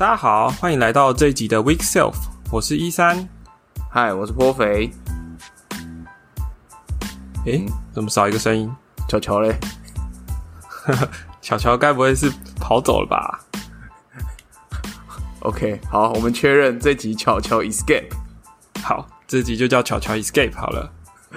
大家好，欢迎来到这一集的 Weak Self， 我是13。 嗨，我是颇肥。 怎么少一个声音？ 巧巧嘞？ 巧巧该不会是跑走了吧 ？OK， 好，我们确认这集巧巧 escape。 好，这集就叫巧巧 escape 好了。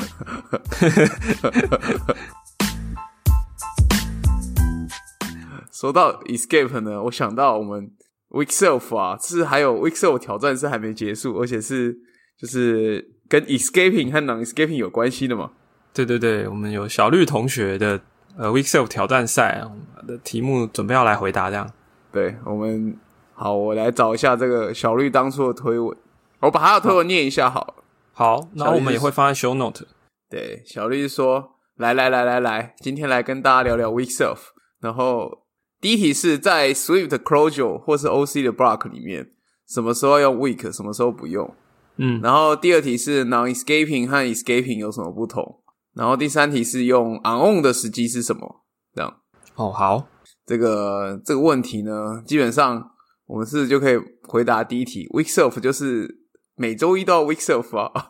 说到 escape 呢，我想到我们 Weak Self 啊，是还有 Weak Self 挑战是还没结束，而且是就是跟 escaping 和 non-escaping 有关系的嘛。 对对对，我们有小绿同学的Weak Self 挑战赛的题目，准备要来回答这样。 对，我来找一下这个小绿当初的推文，我把他的推文念一下好了。 好，然后我们也会放在 show note。 对，小绿说：“来，今天来跟大家聊聊 Weak Self。”然后第一题是在 Swift Clojure 或是 OC 的 block 里面，什么时候用 weak， 什么时候不用。然后第二题是 non-escaping 和 escaping 有什么不同。然后第三题是用 on 的时机是什么？这样。 好， 这个问题呢，基本上我们就可以回答第一题 ，weak self 就是每周一都要 weak self 啊。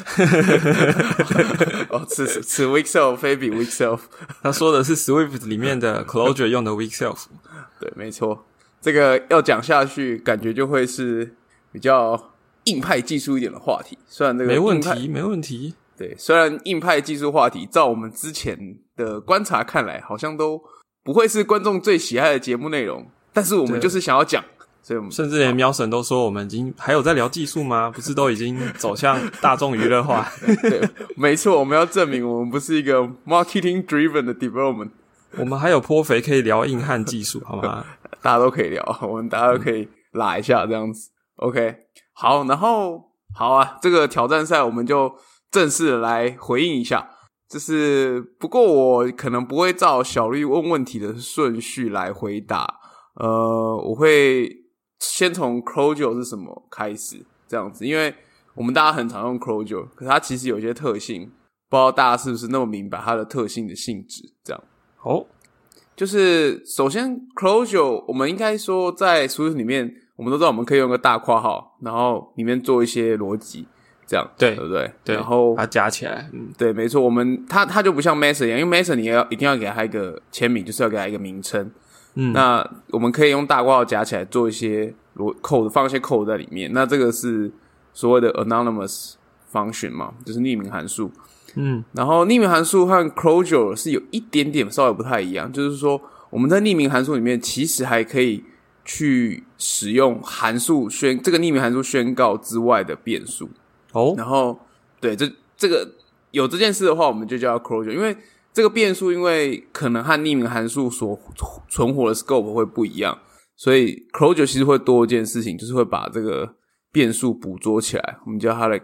此 weak self 非彼 weak self。 他说的是 Swift 里面的 Clojure 用的 weak self。 对，没错。这个要讲下去，感觉就会是比较硬派技术一点的话题。虽然这个没问题。 对，虽然硬派技术话题，照我们之前的观察看来，好像都不会是观众最喜爱的节目内容，但是我们就是想要讲，所以我们甚至连喵神都说我们已经还有在聊技术吗？不是都已经走向大众娱乐化？ 对，没错，我们要证明我们不是一个 marketing driven 的 development， 我们还有颇肥可以聊硬汉技术，好吗？ 大家都可以聊，我们大家都可以拉一下这样子。OK， 好，然后好啊，这个挑战赛我们就正式的来回应一下，不过我可能不会照小绿问问题的顺序来回答，我会先从 Clojure 是什么开始这样子，因为我们大家很常用 Clojure， 可是它其实有些特性，不知道大家是不是那么明白它的特性的性质这样。就是首先 Clojure 我们应该说在 Swift 里面，我们都知道我们可以用个大括号，然后里面做一些逻辑。这样对不对？ 对， 然后把它加起来。 对，没错，它就不像 Method 一样，因为 Method 你一定要给它一个签名，就是要给它一个名称。那我们可以用大括号加起来做一些code， 放一些 code 在里面。那这个是所谓的 anonymous function 嘛，就是匿名函数。然后匿名函数和 Clojure 是有一点点稍微不太一样，就是说我们在匿名函数里面其实还可以去使用这个匿名函数宣告之外的变数。然后对这个有这件事的话，我们就叫 Clojure， 因为这个变数因为可能和匿名函数所存活的 scope 会不一样，所以 Clojure 其实会多一件事情，就是会把这个变数捕捉起来，我们叫它的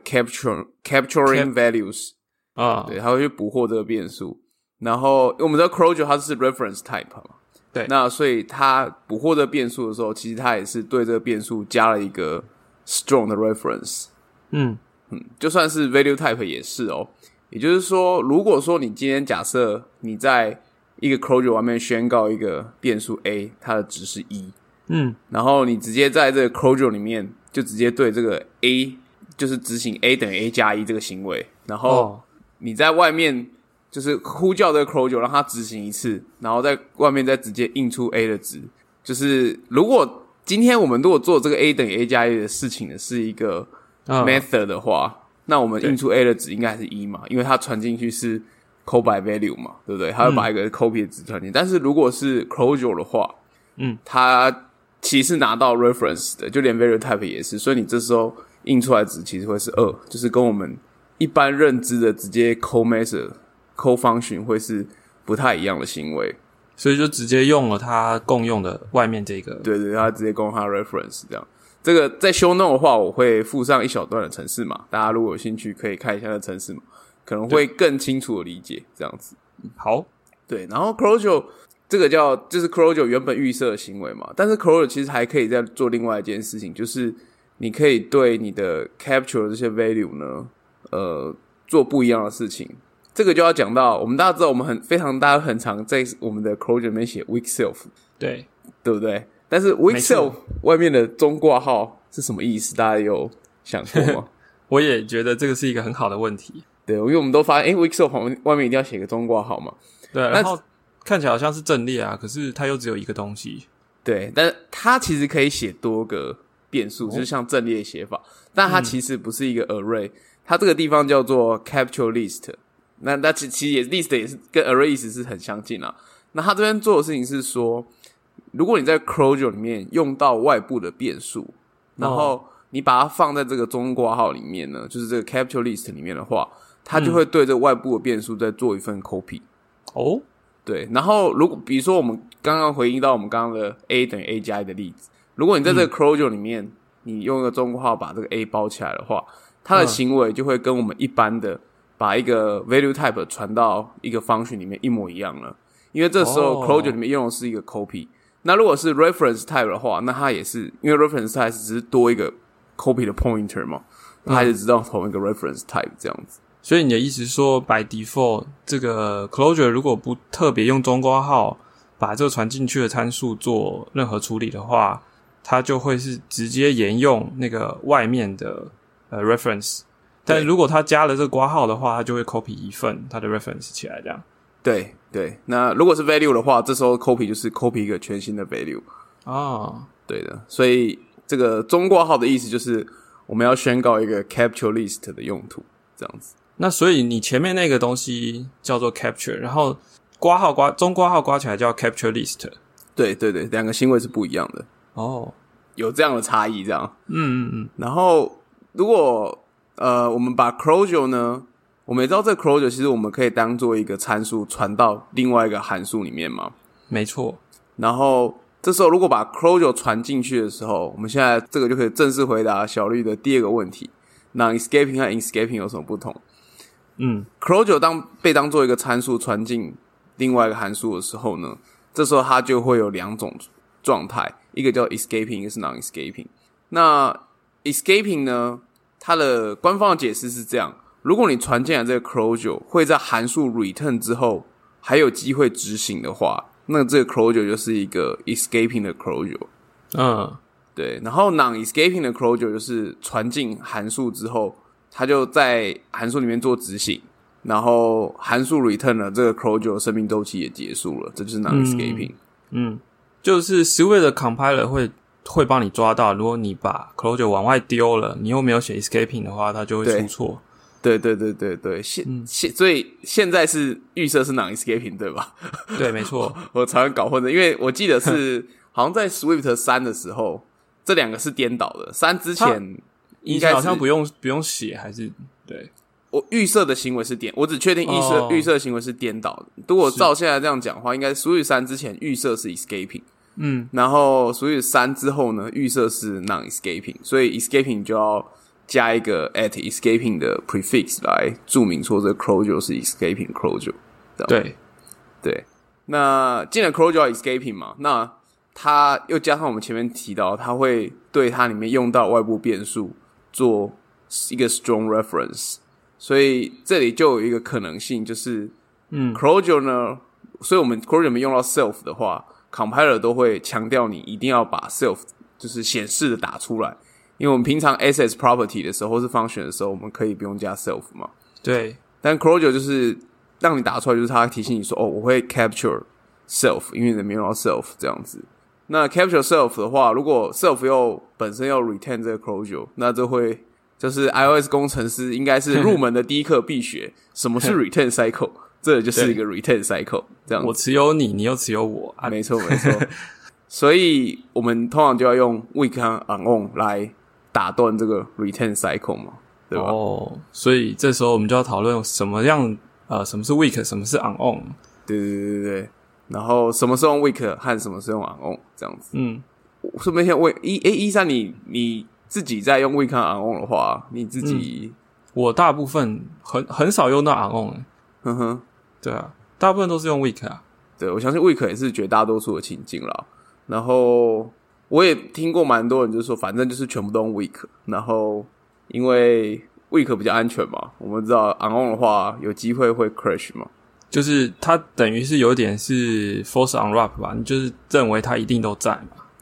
capturing values 对，它会去捕获这个变数。然后我们知道 Clojure 它是 reference type 嘛， 对， 那所以它捕获这个变数的时候，其实它也是对这个变数加了一个 strong 的 reference。就算是 value type 也是哦，也就是说，如果说你今天假设你在一个 Clojure 外面宣告一个变数 A， 它的值是1，然后你直接在这个 Clojure 里面就直接对这个 A 就是执行 A 等于 A 加1这个行为，然后你在外面就是呼叫这个 Clojure 让它执行一次，然后在外面再直接印出 A 的值，就是如果今天我们如果做这个 A 等于 A 加1的事情的是一个method 的话，那我们印出 A 的值应该是1嘛，因为它传进去是 call by value 嘛，对不对？它会把一个 copy 的值传进。但是如果是 Clojure 的话，它其实是拿到 reference 的，就连 value type 也是，所以你这时候印出来的值其实会是2，就是跟我们一般认知的直接 call method、call function 会是不太一样的行为。 所以就直接用了它共用的外面这个。 对，它直接共用它 reference 这样。这个在 show note 的话，我会附上一小段的程式码，大家如果有兴趣可以看一下那程式码，可能会更清楚的理解这样子。 好， 对，然后 Clojure 这个就是 Clojure 原本预设的行为嘛，但是 Clojure 其实还可以再做另外一件事情，就是你可以对你的 capture 的这些 value 呢，做不一样的事情。这个就要讲到，我们大家知道，大家很常在我们的 Clojure 里面写 weak self， 对不对？ 但是 weak self 外面的中挂号是什么意思？大家有想过吗？ 我也觉得这个是一个很好的问题。 对，因为我们都发现weak self 外面一定要写个中挂号嘛。 对，然后看起来好像是阵列啊，可是它又只有一个东西。对， 但是它其实可以写多个变数，就是像阵列写法，但它其实不是一个 array，它这个地方叫做 capture list。那其实也 list 也是跟 array 意思是很相近啊。那它这边做的事情是说，如果你在 Clojure 里面用到外部的变数，然后你把它放在这个中括号里面呢，就是这个 capture list 里面的话，它就会对这个外部的变数再做一份 copy。对，然后如果比如说我们刚刚回应到我们刚刚的 a 等于 a 加 a 的例子，如果你在这个 Clojure 里面，你用一个中括号把这个 a 包起来的话，它的行为就会跟我们一般的把一个 value type 传到一个 function 里面一模一样了。因为这时候 Clojure 里面用的是一个 copy， 那如果是 reference type 的话，那它也是因为 reference type 只是多一个 copy 的 pointer 嘛，它还是知道同一个 reference type 这样子。 所以你的意思是说 by default 这个 Clojure 如果不特别用中括号把这个传进去的参数做任何处理的话，它就会是直接沿用那个外面的reference， 但如果它加了这个括号的话，它就会 copy 一份它的 reference 起来这样。 对对，那如果是 value 的话，这时候 copy 就是 copy 一个全新的 value。对的，所以这个中括号的意思就是我们要宣告一个 capture list 的用途这样子。 那所以你前面那个东西叫做 capture， 然后中括号刮起来叫 capture list。 对对对，两个行为是不一样的。有这样的差异这样。然后如果我们把 Clojure 呢，我们也知道这个 Clojure 其实我们可以当做一个参数传到另外一个函数里面嘛。 没错。 然后这时候如果把 Clojure 传进去的时候，我们现在这个就可以正式回答小绿的第二个问题， non-escaping 和 escaping 有什么不同？Clojure 被当做一个参数传进另外一个函数的时候呢，这时候它就会有两种状态，一个叫 escaping， 一个是 non-escaping。那 escaping 呢，它的官方的解释是这样：如果你传进来这个 Clojure 会在函数 return 之后还有机会执行的话，那这个 Clojure 就是一个 escaping 的 Clojure。对。然后 non-escaping 的 Clojure 就是传进函数之后，它就在函数里面做执行，然后函数 return 了，这个 Clojure 生命周期也结束了，这就是 non-escaping。 就是 Swift 的 compiler 会帮你抓到，如果你把 Clojure 往外丢了，你又没有写 escaping 的话，它就会出错。 对。所以现在是预设是 non-escaping 对吧？ 对，没错。 我常常搞混的，因为我记得是好像在 Swift 3的时候，这两个是颠倒的。3之前应该是好像不用写，还是对。 我预设的行为是我只确定预设行为是颠倒的。如果照现在这样讲的话，应该 Swift 3之前预设是 escaping，然后 Swift 3之后呢，预设是 non-escaping， 所以 escaping 就要加一个 at escaping 的 prefix 来注明说这个 Clojure 是 escaping Clojure。对。那既然 Clojure 要 escaping 嘛，那它又加上我们前面提到，它会对它里面用到外部变数做一个 strong reference。所以这里就有一个可能性，就是Clojure 呢，所以我们 Clojure 里面用到 self 的话， compiler 都会强调你一定要把 self 就是显示的打出来，因为我们平常 access property 的时候或是 function 的时候，我们可以不用加 self 嘛。 对。 但 Clojure 就是让你打出来，就是它提醒你说我会 capture self， 因为你没用到 self 这样子。那 capture self 的话，如果 self 又本身要 retain 这个 Clojure， 那这会就是 iOS 工程师应该是入门的第一课必学什么是 retain cycle 这就是一个 retain cycle 这样子。 我持有你，你又持有我没错所以我们通常就要用 weak 和 unon 来打断这个 retain cycle 嘛，对吧？ 所以这时候我们就要讨论什么是 weak， 什么是 unon。 对，然后什么是用 weak 和什么是用 unon 这样子。顺便先问13，你自己在用 weak 和 unon 的话，你自己我大部分很少用到 unon。对啊，大部分都是用 weak 啊。 对，我相信 weak 也是绝大多数的情境啦。然后我也听过蛮多人就是说反正就是全部都用 weak， 然后因为 weak 比较安全嘛，我们知道 unon 的话有机会会 crash 嘛， 就是它等于是有点是 false unwrap 吧，你就是认为它一定都在嘛。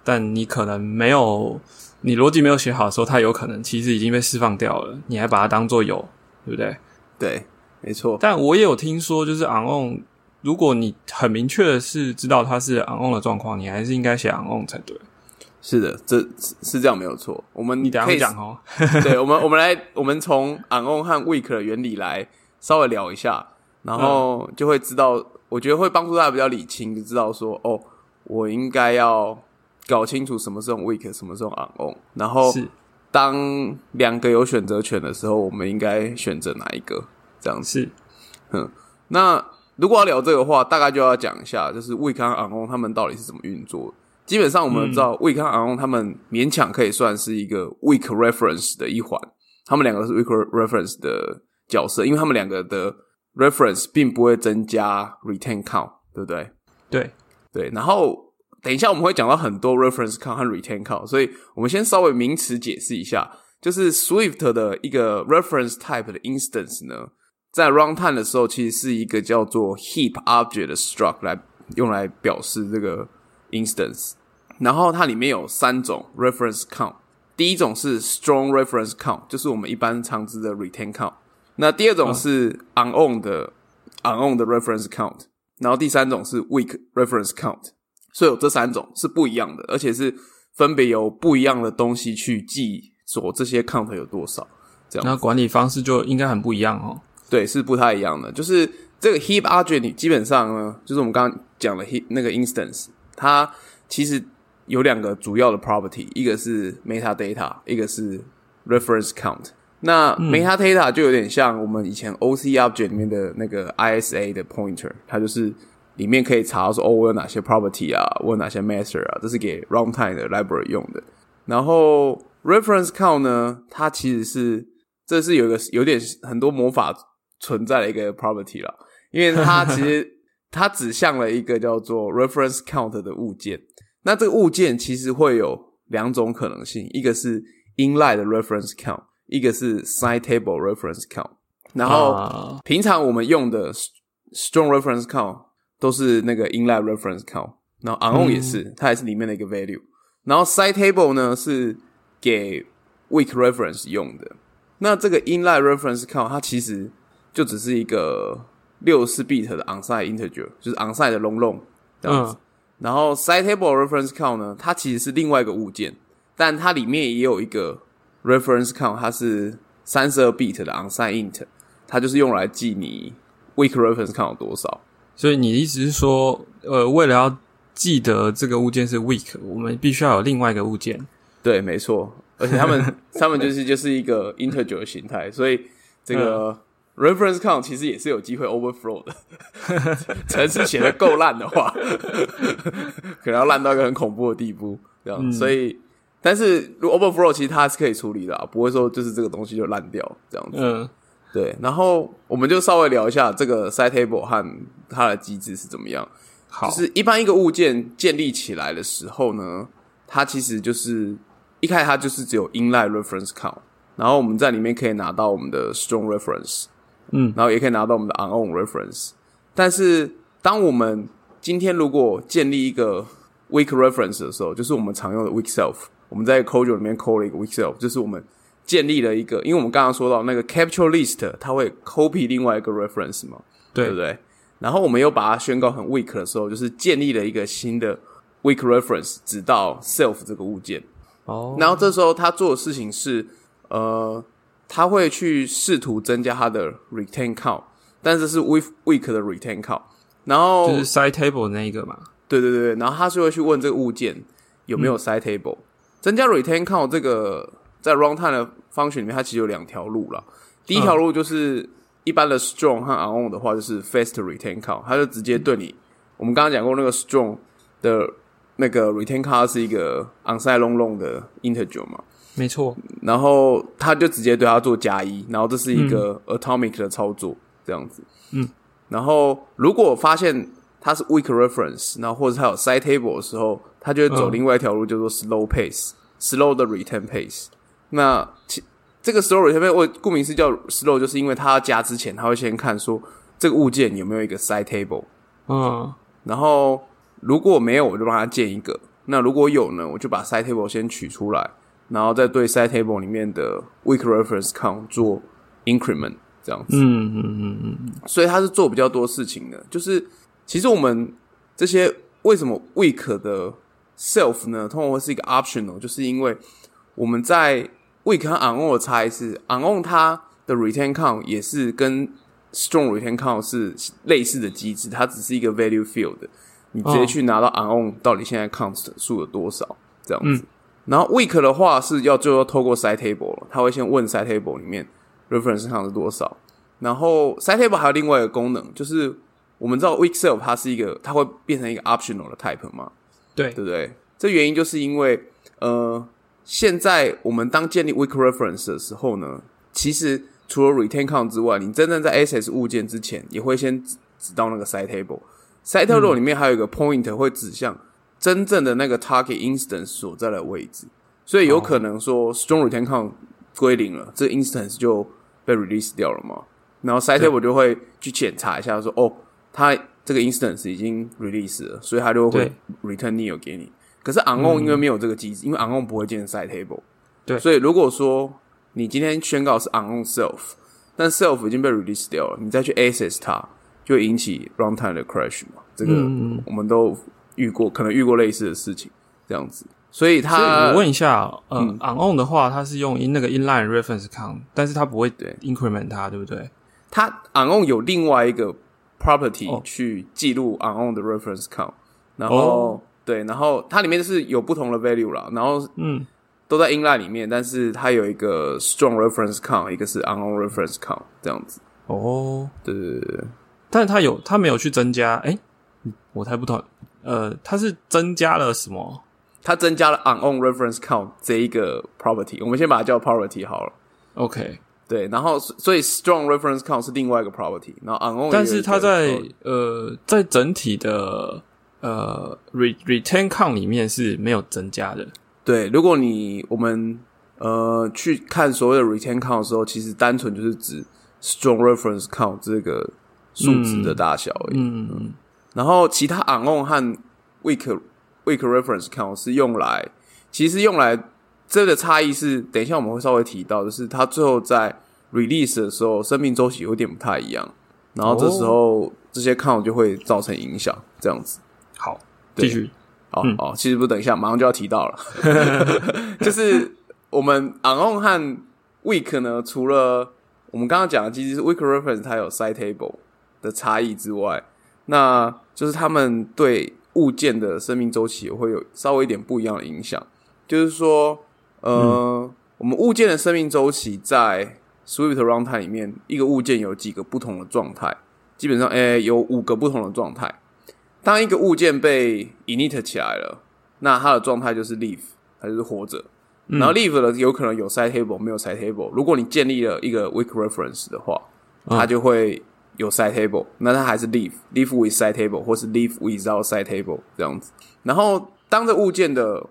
但你可能没有，你逻辑没有写好的时候，它有可能其实已经被释放掉了，你还把它当作有，对不对？ 对，没错。 但我也有听说，就是 on， 如果你很明确的是知道它是 on 的状况，你还是应该写 on 才对。 是的，这是这样没有错。 你等一下会讲哦。 对，我们从 on 和 weak 的原理来稍微聊一下，然后就会知道，我觉得会帮助大家比较理清，就知道说我应该要搞清楚什么是用 weak， 什么是用 on， 然后当两个有选择权的时候，我们应该选择哪一个？这样子。那如果要聊这个的话，大概就要讲一下，就是 weak 和 on 他们到底是怎么运作的。基本上我们知道 weak 和 on 他们勉强可以算是一个 weak reference 的一环，他们两个都是 weak reference 的角色，因为他们两个的 reference 并不会增加 retain count， 对不对？对，然后等一下我们会讲到很多 reference count 和 retain count， 所以我们先稍微名词解释一下，就是 Swift 的一个 reference type 的 instance 呢，在 runtime 的时候其实是一个叫做 heap object 的 struct 用来表示这个 instance， 然后它里面有3种 reference count， 第一种是 strong reference count， 就是我们一般常知的 retain count， 那第二种是 on 的 reference count， 然后第三种是 weak reference count， 所以有这3种是不一样的，而且是分别由不一样的东西去记说这些 count 有多少，这样。 那管理方式就应该很不一样哦。 对，是不太一样的。就是这个 heap object 基本上呢，就是我们刚刚讲的 heap 那个 instance， 它其实有2个主要的 property， 一个是 metadata， 一个是 reference count。那 metadata 就有点像我们以前 OC object 里面的那个 ISA 的 pointer， 它就是里面可以查到说我有哪些 property 啊，我有哪些 method 啊，这是给 runtime 的 library 用的。然后 reference count 呢，它其实这是有点很多魔法存在的一个 property 啦，因为它其实它指向了一个叫做 reference count 的物件。那这个物件其实会有2种可能性，一个是 inline 的 reference count， 一个是 side table reference count。然后平常我们用的 strong reference count 都是那个 inline reference count， 然后 on 也是，它也是里面的一个 value。然后 side table 呢是给 weak reference 用的。那这个 inline reference count 它其实就只是一个64 bit 的 onside integer， 就是 onside 的 long 这样子。然后 side table reference count 呢，它其实是另外一个物件，但它里面也有一个 reference count， 它是32 bit 的 onside int， 它就是用来记你 weak reference count 有多少。 所以你的意思是说，为了要记得这个物件是 weak， 我们必须要有另外一个物件。 对，没错，而且他们就是一个 integer 的形态，所以这个reference count 其实也是有机会 overflow 的，程式写的够烂的话，可能要烂到一个很恐怖的地步，这样。所以，但是如果 overflow 其实它是可以处理的，不会说就是这个东西就烂掉这样子。对。然后我们就稍微聊一下这个 side table 和它的机制是怎么样。 好， 就是一般一个物件建立起来的时候呢，它其实就是一开始它就是只有 inline reference count， 然后我们在里面可以拿到我们的 strong reference。然后也可以拿到我们的 on reference。但是当我们今天如果建立一个 weak reference 的时候，就是我们常用的 weak self， 我们在 codule 里面 call 了一个 weak self， 就是我们建立了一个，因为我们刚刚说到那个 capture list 它会 copy 另外一个 reference 嘛， 对不对？然后我们又把它宣告很 weak 的时候，就是建立了一个新的 weak reference 直到 self 这个物件。然后这时候他做的事情是他会去试图增加他的 retain count， 但是是 weak 的 retain count， 然后就是 side table 那一个嘛。 对，然后他是会去问这个物件有没有 side table。增加 retain count 这个在 runtime 的 function 里面，它其实有2条路啦。第一条路就是一般的 strong 和 on 的话，就是 fast retain count， 它就直接对你，我们刚刚讲过那个 strong 的那个 retain count 是一个 onside long 的 integer 嘛。 没错，然后他就直接对他做+1，然后这是一个 atomic 的操作，这样子。然后如果发现它是 weak reference， 然后或者它有 side table 的时候，他就会走另外一条路，叫做 slow pace，slow 的 retain pace。那这个 slow retain pace， 顾名思义叫 slow， 就是因为他要加之前，他会先看说这个物件有没有一个 side table。然后如果没有，我就帮他建一个。 那如果有呢，我就把 side table 先取出来，然后再对 side table 里面的 weak reference count 做 increment 这样子。所以它是做比较多事情的，就是其实我们这些为什么 weak 的 self 呢，通常会是一个 optional， 就是因为我们在 weak 和 unown 的差异是 unown 它的 retain count 也是跟 strong retain count 是类似的机制，它只是一个 value field 的，你直接去拿到 unown 到底现在 count 数有多少这样子。然后 weak 的话是就要透过 side table 了，他会先问 side table 里面 reference count 是多少。然后 side table 还有另外一个功能，就是我们知道 weak self 它会变成一个 optional 的 type 嘛，对不对？这原因就是因为现在我们当建立 weak reference 的时候呢，其实除了 retain count 之外，你真正在 access 物件之前，也会先指到那个 side table。side table 里面还有一个 pointer 会指向真正的那个 target instance 所在的位置，所以有可能说 strong retain count 归零了，这个 instance 就被 release 掉了嘛。然后 side table 就会去检查一下说，它这个 instance 已经 release 了，所以它就会 return nil 给你。可是 unown 因为没有这个机制，因为 unown 不会建 side table， 对，所以如果说你今天宣告是 unown self， 但 self 已经被 release 掉了，你再去 access 它，就会引起 runtime 的 crash 嘛。这个我们都可能遇过类似的事情，这样子。所以我问一下，unown 的话，它是用那个 inline reference count， 但是它不会 increment 它，对不对？ 它 unown 有另外一个 property 去记录 unown 的 reference count， 然后对，然后它里面是有不同的 value 啦，然后都在 inline 里面，但是它有一个 strong reference count， 一个是 unown reference count 这样子。对， 但是它没有去增加，我才不懂，它是增加了什么？ 它增加了 unown reference count 这一个 property， 我们先把它叫 property 好了。 OK， 对，然后所以 strong reference count 是另外一个 property， 然后 unown 但是它在整体的retain count 里面是没有增加的。 对，如果我们去看所谓的 retain count 的时候，其实单纯就是指 strong reference count 这个数值的大小而已。然后其他 unown 和 weak reference count 是用来这个差异是等一下我们会稍微提到，就是它最后在 release 的时候生命周期有点不太一样，然后这时候这些 count 就会造成影响，这样子。 好，继续。 好，其实不等一下马上就要提到了就是我们 unown 和 weak 呢，除了我们刚刚讲的机制是 weak reference 它有 side table 的差异之外，那就是他们对物件的生命周期会有稍微一点不一样的影响。就是说我们物件的生命周期在 Swift runtime 里面，一个物件有几个不同的状态，基本上有5个不同的状态。当一个物件被 init 起来了，那它的状态就是 live， 它就是活着。然后 live 的有可能有 side table 没有 side table， 如果你建立了一个 weak reference 的话，它就会有 side table， 那它还是 live with side table 或是 live without side table 这样子。然后当这物件的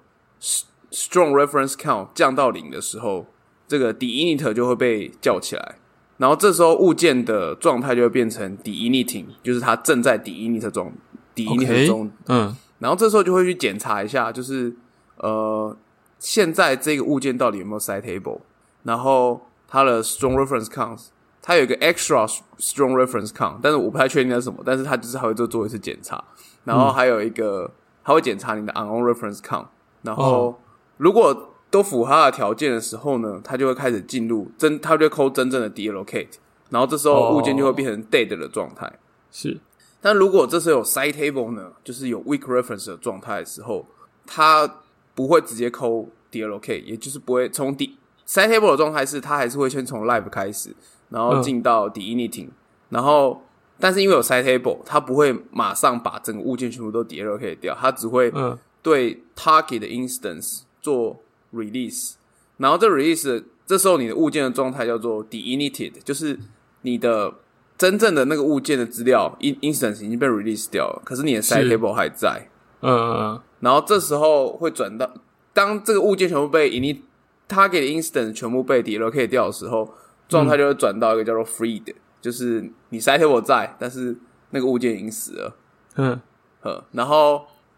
strong reference count 降到0的时候，这个 deinit 就会被叫起来，然后这时候物件的状态就会变成 deinitting， 就是它正在 deinit 中。然后这时候就会去检查一下，就是现在这个物件到底有没有 side table， 然后它的 strong reference count， 它有一个 extra strong reference count， 但是我不太确定那是什么，但是它就是还会做一次检查，然后还有一个它会检查你的 unown reference count， 然后如果都符合它的条件的时候呢，它就会开始进入它就会扣真正的 deallocate， 然后这时候物件就会变成 dead 的状态。 是。 但如果这时候有 side table 呢，就是有 weak reference 的状态的时候，它不会直接扣 deallocate， 也就是不会从side table 的状态是它还是会先从 live 开始，然后进到 deinitting，然后但是因为有 side table， 它不会马上把整个物件全部都 deallocate 掉，它只会对 target 的 instance 做 release， 然后这 release 这时候你的物件的状态叫做 deinited， 就是你的真正的那个物件的资料 instance 已经被 release 掉了，可是你的 side table 还在。然后这时候会转到当这个物件全部被 target 的 instance 全部被 deallocate 掉的时候，状态就会转到一个叫做 freed，就是你 side table 在，但是那个物件已经死了。然后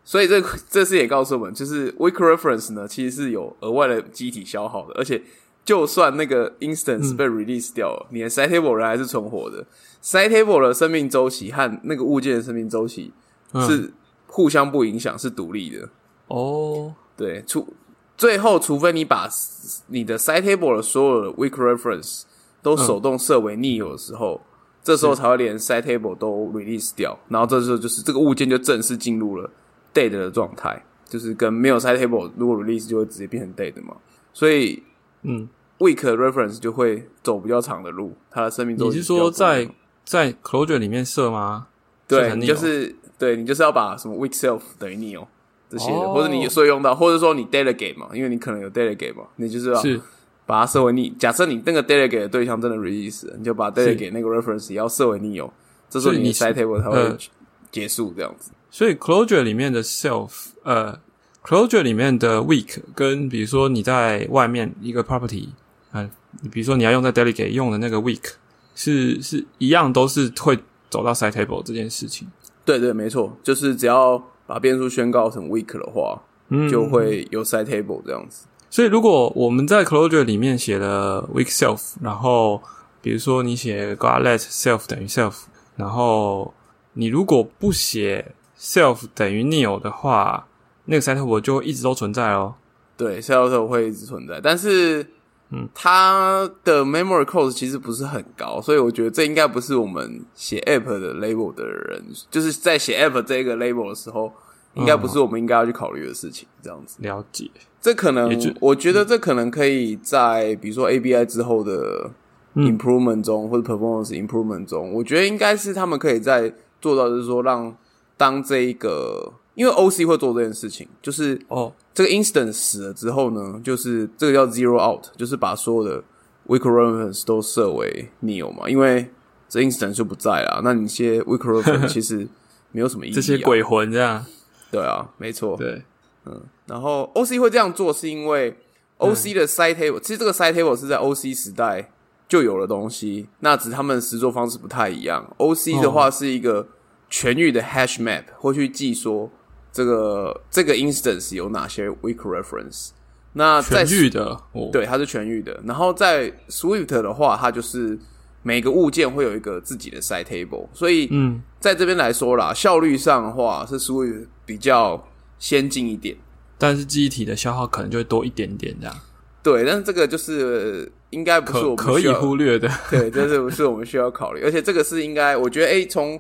所以这次也告诉我们，就是 weak reference 呢，其实是有额外的记忆体消耗的，而且就算那个 instance 被 release 掉了，你的 side table 人还是存活的。side table 的生命周期和那个物件的生命周期是互相不影响，是独立的。 哦， 对，最后除非你把你的 side table 的所有的 weak reference 都手动设为 nil 的时候，这时候才会连 side table 都 release 掉，然后这时候就是这个物件就正式进入了 dead 的状态，就是跟没有 side table 如果 release 就会直接变成 dead 嘛，所以weak reference 就会走比较长的路，它的生命周期。 你是说在 closure 里面设吗？ 对，你就是要把什么 weak self 等于 nil 这些的，或者你所以用到，或者说你 delegate 嘛，因为你可能有 delegate 嘛，你就是要把它设为 nil。假设你那个 delegate 的对象真的 release 了，你就把 delegate 那个 reference 也要设为 nil， 这时候你的 side table 才会结束这样子。 所以 closure 里面的 closure 里面的 weak 跟比如说你在外面一个 property，比如说你要用在 delegate 用的那个 weak 是一样，都是会走到 side table 这件事情。 对对，没错，就是只要把变数宣告成 weak 的话，就会有 side table 这样子。 所以如果我们在 closure 里面写了 weak self， 然后比如说你写 let self 等于 self， 然后你如果不写 self 等于 nil 的话，那个 side table 就会一直都存在咯。 对， side table 会一直存在，但是它的 memory cost 其实不是很高，所以我觉得这应该不是我们写 app 的 label 的人，就是在写 app 这个 label 的时候，应该不是我们应该要去考虑的事情。这样子了解， 这可能我觉得这可能可以在比如说 ABI 之后的 improvement 中，或者 performance improvement 中，我觉得应该是他们可以再做到，就是说让当这一个，因为 OC 会做这件事情，就是这个 instance 死了之后呢，就是这个叫 zero out， 就是把所有的 weak reference 都设为 nil 嘛，因为这 instance 就不在啦，那你些 weak reference 其实没有什么意义， 这些鬼魂这样。 对啊，没错。 对， 然后 OC 会这样做是因为 OC 的 side table，其实这个 side table 是在 OC 时代就有的东西，那只是他们实作方式不太一样。OC 的话是一个全域的 hash map， 会去记说这个 instance 有哪些 weak reference。那在全域的， 对，它是全域的。然后在 Swift 的话，它就是每个物件会有一个自己的 side table， 所以在这边来说啦，效率上的话是 Swift 比较先进一点， 但是记忆体的消耗可能就会多一点点这样。 对，但是这个就是应该不是我们可以忽略的， 对，这是不是我们需要考虑？而且这个是应该，我觉得从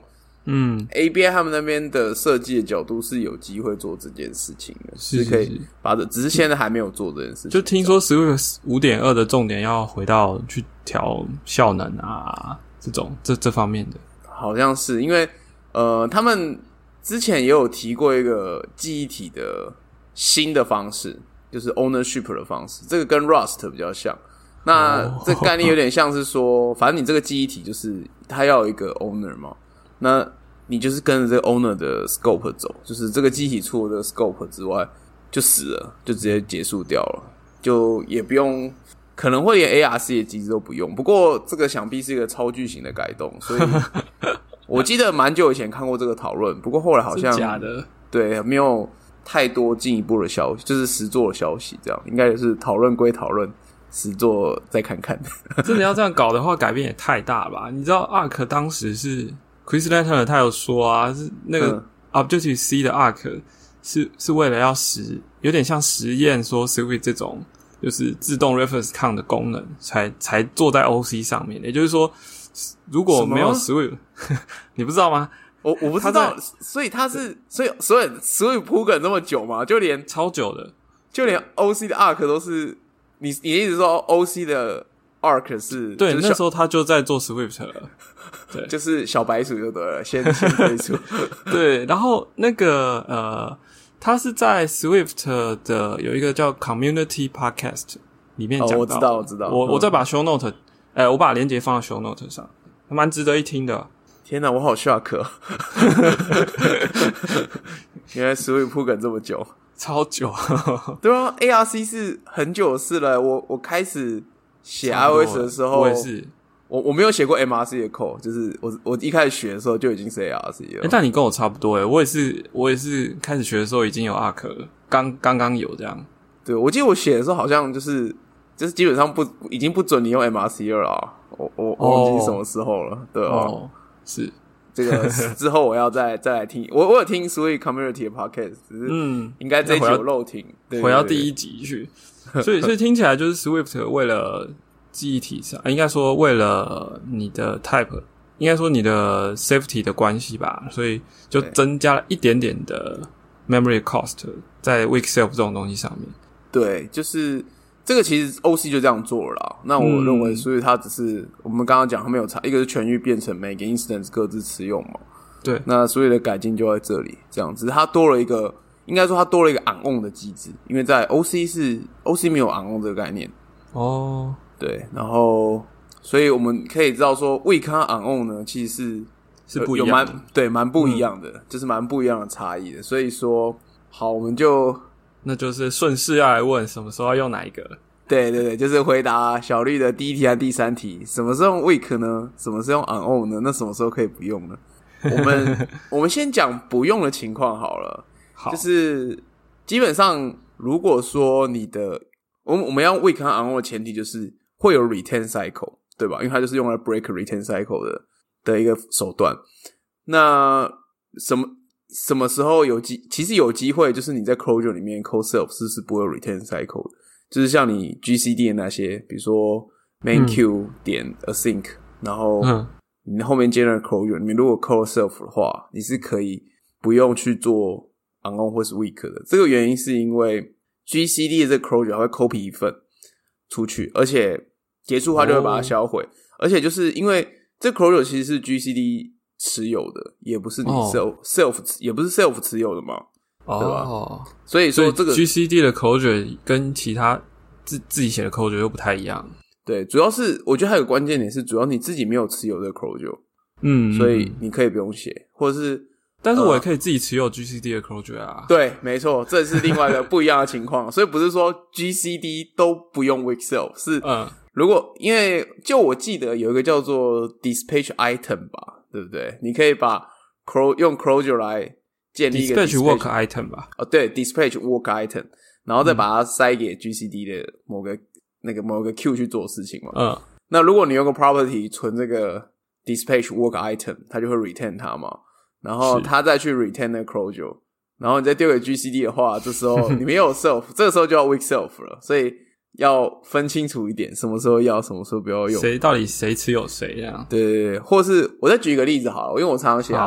ABI 他们那边的设计的角度是有机会做这件事情的，是可以把只是现在还没有做这件事情。 就听说 Swift 5.2 的重点要回到去调效能啊，这方面的， 好像是因为他们之前也有提过一个记忆体的新的方式，就是 ownership 的方式，这个跟 Rust 比较像。那这概念有点像是说，反正你这个记忆体就是它要有一个 owner 嘛，那你就是跟着这个 owner 的 scope 走，就是这个记忆体除了这个 scope 之外就死了，就直接结束掉了，就也不用，可能会连 ARC 的机制都不用。不过这个想必是一个超巨型的改动，所以我记得蛮久以前看过这个讨论，不过后来好像是假的， 对，没有太多进一步的消息，就是实作的消息，这样应该也是讨论归讨论，实作再看看。 真的要这样搞的话，改变也太大吧？你知道 Arc 当时是 Chris Lantner 他有说啊，是那个 Objective C 的 Arc 是为了要有点像实验说 Swift 这种就是自动 reference count 的功能才做在 OC 上面。也就是说，如果没有 Swift 你不知道吗？ 我不知道，所以所以 Swift 铺梗这么久嘛，就连超久的， 就连 OC 的 Arc 都是你一直说 OC 的 Arc 是对，那时候他就在做 Swift 了，对， 就是小白鼠就对了，先推出。 对，然后那个他是在 Swift 的有一个叫 Community Podcast 里面讲到， 我知道， 我再把 show note，我把连结放在 show note 上，蛮值得一听的。 天哪，我好 shock 哦！原来 Swift 铺梗这么久， 超久。 对啊 ，ARC 是很久的事了。我开始写 iOS 的时候， 我也是。 我没有写过 MRC 的 code， 就是我一开始学的时候就已经是 ARC 了。 但你跟我差不多我也是开始学的时候已经有 Arc 了，刚有这样。 对，我记得我写的时候好像就是基本上已经不准你用 MRC 了啊。我忘记什么时候了，对哦， 是这个之后我要再来听，我有听 Swift Community 的 podcast， 只是应该这一集有漏听， 回到第一集去，所以听起来就是 Swift 为了记忆体上，应该说为了你的 type， 应该说你的 safety 的关系吧，所以就增加了一点点的 memory cost 在 weak self 这种东西上面。 对，就是这个其实 OC 就这样做了啦。那我认为，所以它只是我们刚刚讲，它没有差，一个是全域变成每个 instance 各自持用嘛。 对， 那所有的改进就在这里，这样子。它多了一个，应该说它多了一个 on on 的机制，因为在 OC 没有 on on 这个概念。 哦， 对，然后所以我们可以知道说 weak 和 on on 呢，其实是不一样的， 蛮不一样的，就是蛮不一样的差异的。所以说，好，我们就。 那就是顺势要来问什么时候要用哪一个。 对，就是回答小绿的第一题和第三题，什么是用 weak 呢？什么是用 on on 呢？那什么时候可以不用呢？我们先讲不用的情况好了。 好， 就是基本上如果说你的我们要 weak 和 on on 的前提就是会有 retain cycle， 对吧？因为它就是用来 break retain cycle 的一个手段。那什么时候其实有机会，就是你在 closure 里面 code self 是不会有 retain cycle 的，就是像你 GCD 的那些，比如说 main queue 点 async， 然后你后面接的 closure 里面如果 code self 的话，你是可以不用去做 on on 或是 weak 的。这个原因是因为 GCD 的这个 closure 它会 copy 一份出去，而且结束它就会把它销毁，而且就是因为这个 closure 其实是 GCD持有的，也不是你 self 也不是 self 持有的嘛，对吧？所以说这个 GCD 的 closure 跟其他自己写的 closure 又不太一样。 对，主要是我觉得还有个关键点是，主要你自己没有持有这个 closure，所以你可以不用写，或者是， 但是我也可以自己持有 GCD 的 closure 啊。 对，没错，这是另外一个不一样的情况，所以不是说 GCD 都不用 weak self， 是如果因为就我记得有一个叫做 dispatch item 吧。对不对？你可以把用 closure 来建立一个 dispatch work item 吧。 对 ，dispatch work item， 然后再把它塞给 GCD 的某个 queue 去做事情嘛。那如果你用个 property 存这个 dispatch work item， 它就会 retain 它嘛。然后它再去 retain 那个 closure， 然后你再丢给 GCD 的话，这时候你没有 self， 这个时候就要 weak self 了。所以要分清楚一点，什么时候要，什么时候不要用。 到底谁持有谁这样？ 对，或是我再举一个例子好了，因为我常写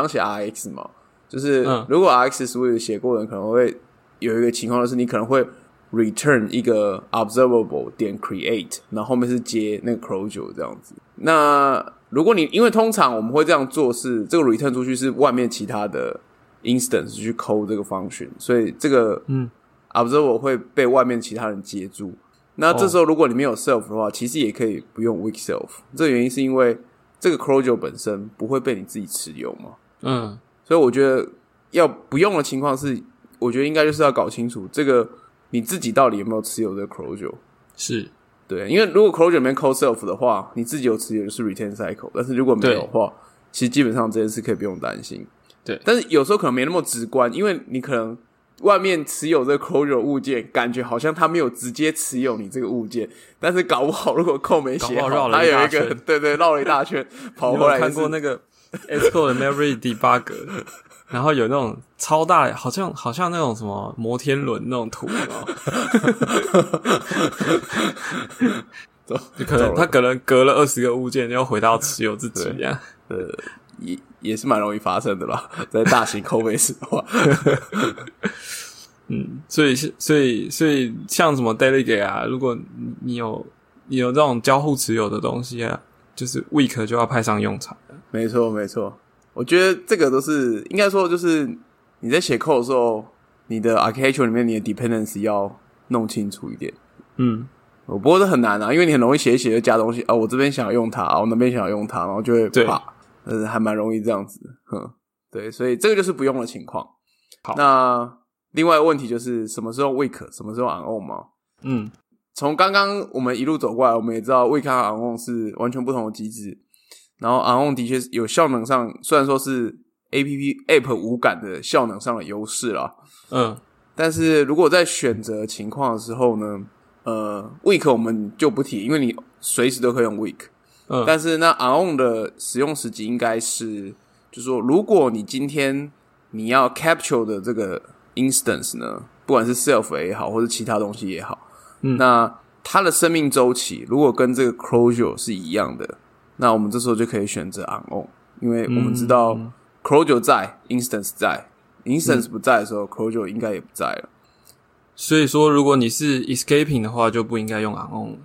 RX 嘛，就是如果 RX Swift 写过的人可能会有一个情况，就是你可能会 return 一个 observable 点 create， 然后后面是接那个 closure 这样子。那如果因为通常我们会这样做是这个 return 出去是外面其他的 instance 去 call 这个 function， 所以这个observer 会被外面其他人接住，那这时候如果你没有 self 的话，其实也可以不用 weak self。这个原因是因为这个 closure 本身不会被你自己持有嘛。所以我觉得要不用的情况是，我觉得应该就是要搞清楚这个你自己到底有没有持有这个 closure。 是， 对，因为如果 closure 里面 call self 的话，你自己有持有就是 retain cycle， 但是如果没有的话，其实基本上这件事可以不用担心。 对， 但是有时候可能没那么直观，因为你可能外面持有这个 closure 物件，感觉好像他没有直接持有你这个物件，但是搞不好如果code没写好，他有一个对绕了一大圈跑回来。 你有看过那个 Xcode 的 memory debugger， 然后有那种超大，好像那种什么摩天轮那种图，就可能他可能隔了20个物件，要回到持有自己这样。 也是蛮容易发生的啦，在大型code base 的话。 所以像什么 delegate 啊，如果你有这种交互持有的东西啊，就是 weak 就要派上用场了。 没错，我觉得这个都是应该说，就是你在写 code 的时候，你的 architecture 里面你的 dependency 要弄清楚一点。不过这很难啊，因为你很容易写一写就加东西啊，我这边想要用它啊，我那边想要用它，然后就会怕。还蛮容易这样子，对，所以这个就是不用的情况。好，那另外一个问题就是什么时候 weak， 什么时候 on on 吗？ 从刚刚我们一路走过来，我们也知道 weak 和 on 是完全不同的机制。然后 on 的确有效能上，虽然说是 app 无感的效能上的优势啦，但是如果在选择情况的时候呢，weak 我们就不提，因为你随时都可以用 weak。但是那 on 的使用时机应该是，就是说，如果你今天你要 capture 的这个 instance 呢，不管是 self 也好，或者其他东西也好，那它的生命周期如果跟这个 closure 是一样的，那我们这时候就可以选择 on， 因为我们知道 closure 在 instance 在 instance 不在的时候closure 应该也不在了。 所以说如果你是 escaping 的话就不应该用 on。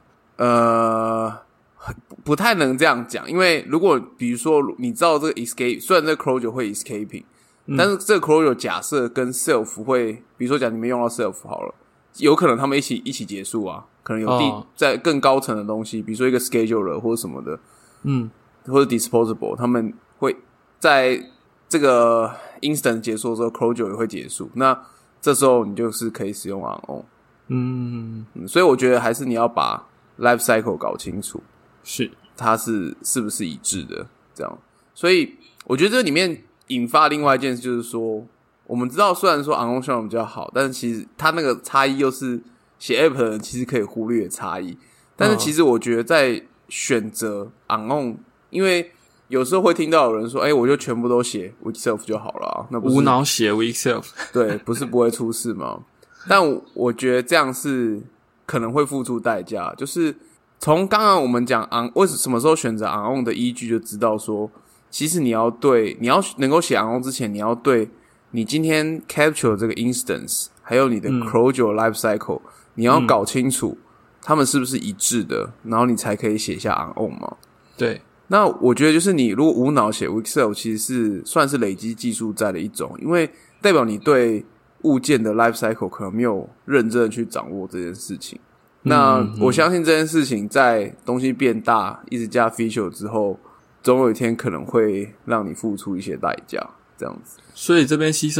不太能这样讲，因为如果比如说你知道这个 escape， 虽然这个 closure 会 escaping，但是这个 closure 假设跟 self 会，比如说讲你没用到 self 好了，有可能他们一起结束啊，可能有在更高层的东西，比如说一个 scheduler 或者什么的，或者 disposable， 他们会在这个 instant 结束的时候 closure 也会结束，那这时候你就是可以使用 on。所以我觉得还是你要把 life cycle 搞清楚， 是它是不是一致的这样。所以我觉得这里面引发另外一件事就是说，我们知道虽然说 on 效能比较好，但是其实它那个差异又是写 app 的人其实可以忽略的差异。但是其实我觉得在选择 on， 因为有时候会听到有人说我就全部都写 weak self 就好了啊，那不是无脑写 weak self 对，不是不会出事吗？但我觉得这样是可能会付出代价，就是从刚刚我们讲 on 为什么时候选择 on 的依据就知道说，其实你要能够写 on 之前，你要对你今天 capture 这个 instance 还有你的 closure life cycle，你要搞清楚他们是不是一致的，然后你才可以写下 on 嘛。 对， 那我觉得就是你如果无脑写 weak self， 其实是算是累积技术在的一种，因为代表你对物件的 life cycle 可能没有认真的去掌握这件事情。那我相信这件事情在东西变大一直加 feature 之后，总有一天可能会让你付出一些代价这样子。 所以这边牺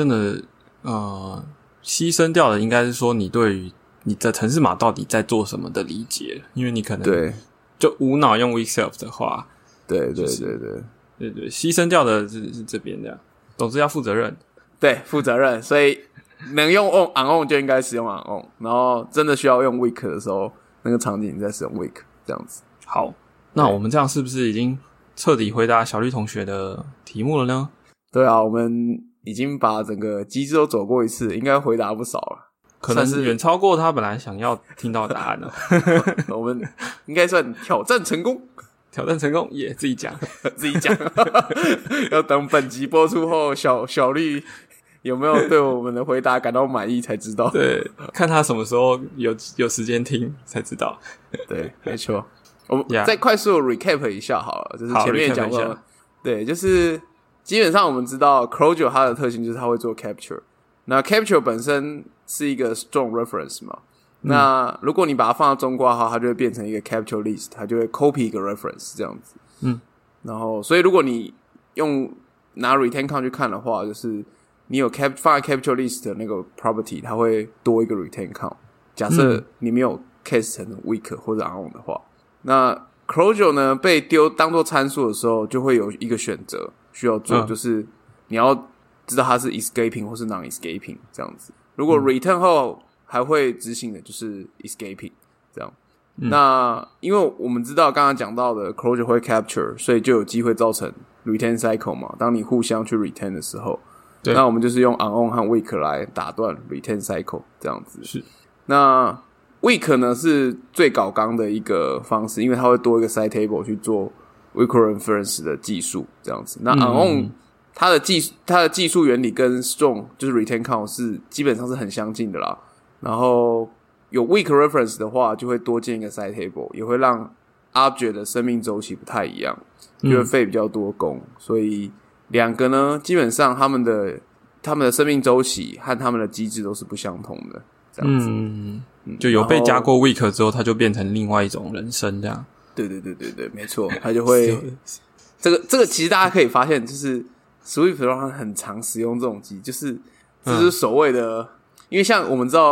牲掉的应该是说你对于你的程式码到底在做什么的理解，因为你可能对就无脑用 weak self 的话， 对， 牺牲掉的是这边这样，总之要负责任， 对，负责任，所以能用 on 就应该使用 on， 然后真的需要用 weak 的时候，那个场景你再使用 weak 这样子。 好，那我们这样是不是已经彻底回答小绿同学的题目了呢？ 对啊，我们已经把整个机制都走过一次，应该回答不少了， 可能是远超过他本来想要听到的答案了。 我们应该算挑战成功， 挑战成功也自己讲， 自己讲，要等本集播出后，小绿有没有对我们的回答感到满意才知道。 对，看他什么时候有时间听才知道。 对，没错。我们再快速 recap 一下好了，就是前面讲过，对，就是基本上我们知道 closure 它的特性就是它会做 capture， 那 capture 本身是一个 strong reference 嘛，那如果你把它放到中括号，它就会变成一个 capture list， 它就会 copy 一个 reference 这样子。然后所以如果你拿 retain count 去看的话，就是你有放在 capture list 的那个 property， 它会多一个 retain count。假设你没有 case 成 weak 或者 on 的话，那 closure 呢被当作参数的时候，就会有一个选择需要做，就是你要知道它是 escaping 或是 non-escaping 这样子。如果 return 后还会执行的就是 escaping 这样。那因为我们知道刚刚讲到的 closure 会 capture， 所以就有机会造成 retain cycle 嘛。当你互相去 retain 的时候，那我们就是用 on 和 weak 来打断 retain cycle 这样子。 是。 那 weak 呢是最搞纲的一个方式，因为它会多一个 side table 去做 weak reference 的技术这样子。那 on 它的技术原理跟 strong 就是 retain count 是基本上是很相近的啦。然后有 weak reference 的话，就会多建一个 side table， 也会让 object 的生命周期不太一样，就会费比较多功。所以两个呢，基本上他们的生命周期和他们的机制都是不相同的，这样子。 就有被加过 weak 之后，它就变成另外一种人生这样。 对，没错，它就会这个其实大家可以发现，就是 Swift 它很常使用这种机，就是所谓的，因为像我们知道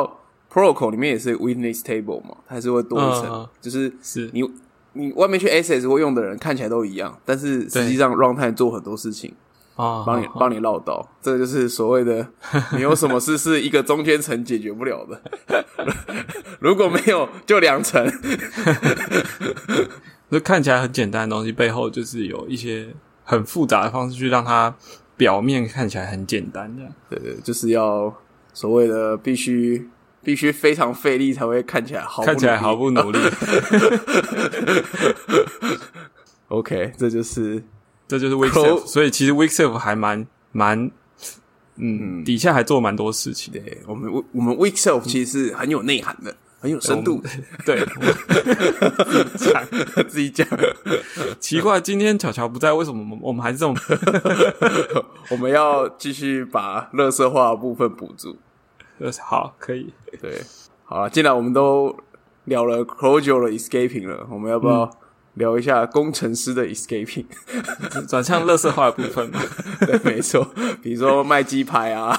protocol 里面也是 witness table 嘛，它还是会多一层，就是你外面去 access 会用的人看起来都一样，但是实际上 runtime 做很多事情，帮你绕道，这个就是所谓的你有什么事是一个中间层解决不了的，如果没有就2层， 就看起来很简单的东西背后就是有一些很复杂的方式去让它表面看起来很简单这样。 对，就是要所谓的必须非常费力才会看起来毫不努力。OK， 这就是 weak self， 所以其实 weak self 还蛮底下还做蛮多事情。 对，我们 weak self 其实是很有内涵的，很有深度。 对， 自己讲。 奇怪，今天巧巧不在，为什么我们还是这种？ 我们要继续把垃圾话的部分补足。 好，可以。 对，好了，既然我们都聊了 Clojure 的 escaping 了，我们要不要聊一下工程师的 escaping？ 转向垃圾话的部分嘛？ 对，没错，比如说卖鸡排啊，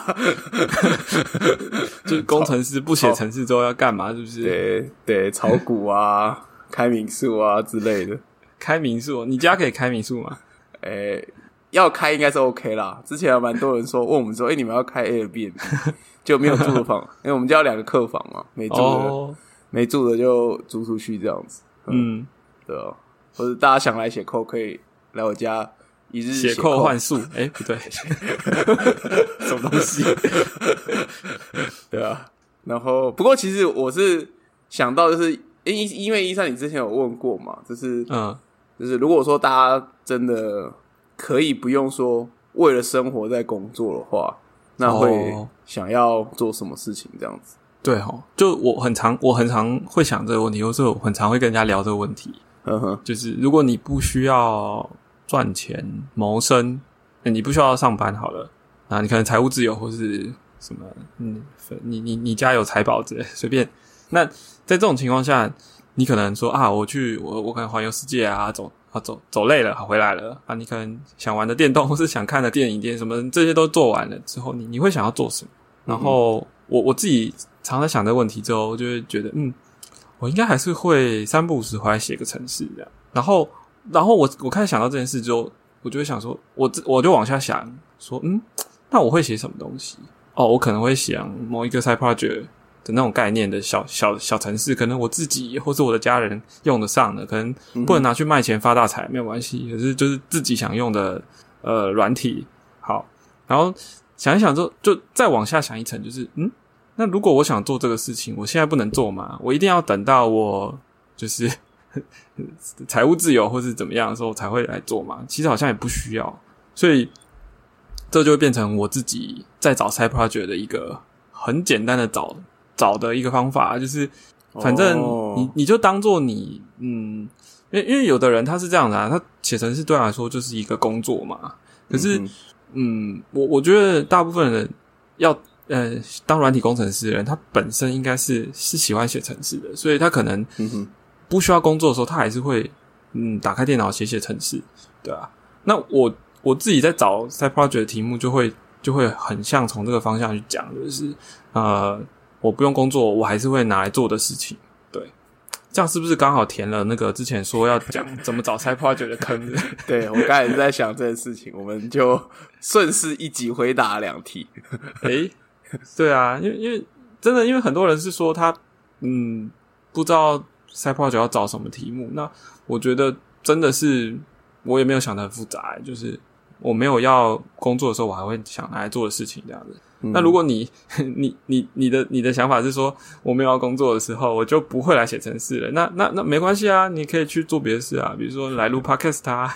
就是工程师不写程式之后要干嘛？是不是？ 对，炒股啊，开民宿啊之类的。 开民宿，你家可以开民宿吗？ 要开应该是 OK 啦。之前有蛮多人问我们说，你们要开 Airbnb， 就没有住的房，因为我们家有2个客房嘛，没住的就租出去这样子。对啊，或者大家想来写code可以来我家一日写code换宿。不对， 什么东西？对啊，然后不过其实我是想到就是因为133你之前有问过嘛，就是如果说大家真的可以不用说为了生活在工作的话，那会想要做什么事情这样子？ 对齁，就我很常会想这个问题，或是我很常会跟人家聊这个问题。就是如果你不需要赚钱谋生，你不需要上班好了，你可能财务自由或是什么，你家有财宝之类随便。那在这种情况下，你可能说我可能环游世界啊，走累了，好回来了啊，你可能想玩的电动或是想看的电影什么这些都做完了之后，你会想要做什么？然后我自己常在想这个问题之后，我就会觉得我应该还是会3不5时回来写个程式这样。然后我开始想到这件事之后，我就会想说我就往下想说那我会写什么东西？我可能会想某一个 side project 的那种概念的小程式，可能我自己或是我的家人用得上的，可能不能拿去卖钱发大财没有关系，可是就是自己想用的软体。好，然后想一想之后就再往下想一层，就是那如果我想做这个事情，我现在不能做吗？我一定要等到我就是财务自由或是怎么样的时候才会来做吗？其实好像也不需要，所以这就会变成我自己在找 side project 的一个很简单的找的一个方法，就是反正你就当做你因为有的人他是这样的他写程式对他来说就是一个工作嘛。可是我觉得大部分人要当软体工程师的人，他本身应该是喜欢写程式的，所以他可能不需要工作的时候，他还是会打开电脑写程式，对啊。那我自己在找 side project 的题目就会很像从这个方向去讲，就是我不用工作，我还是会拿来做的事情，对。这样是不是刚好填了那个之前说要讲怎么找 side project 的坑？ 对，我刚才是在想这件事情，我们就顺势一集回答2题。 对啊，因为真的，因为很多人是说他不知道 side project 要找什么题目，那我觉得真的是我也没有想得很复杂，就是我没有要工作的时候，我还会想拿来做的事情这样子。那如果你的想法是说我没有要工作的时候，我就不会来写程式了，那没关系啊，你可以去做别的事啊，比如说来录 podcast 啊，